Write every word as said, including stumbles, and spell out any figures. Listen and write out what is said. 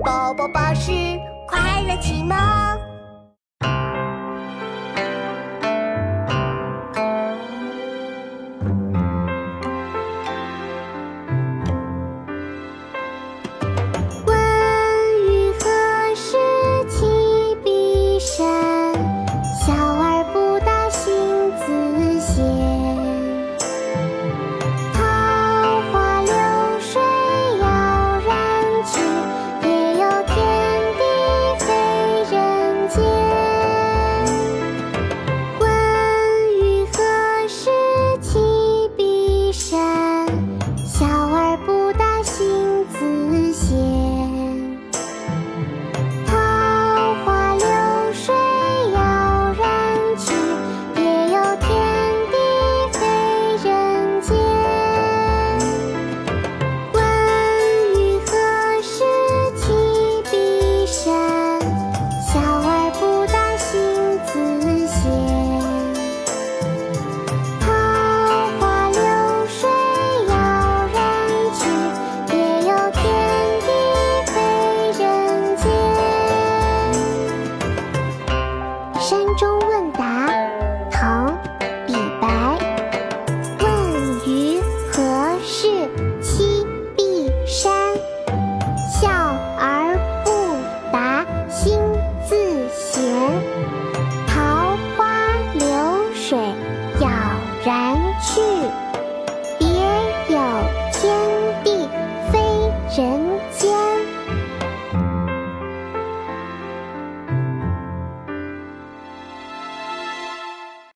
宝宝巴士快乐启蒙。 问余何时起笔善？小儿不达心自闲。桃花流水遥然去，别有天地非人间。问余何时起笔善？小儿不达心自闲。桃花流水遥然去，别有天地非人间。问余何时起笔善？小儿不达心自闲。桃花流水遥然去，别有天地非人间。山中问答，唐·李白。问余何时起笔善？小儿不达心自闲。桃花流水遥然去。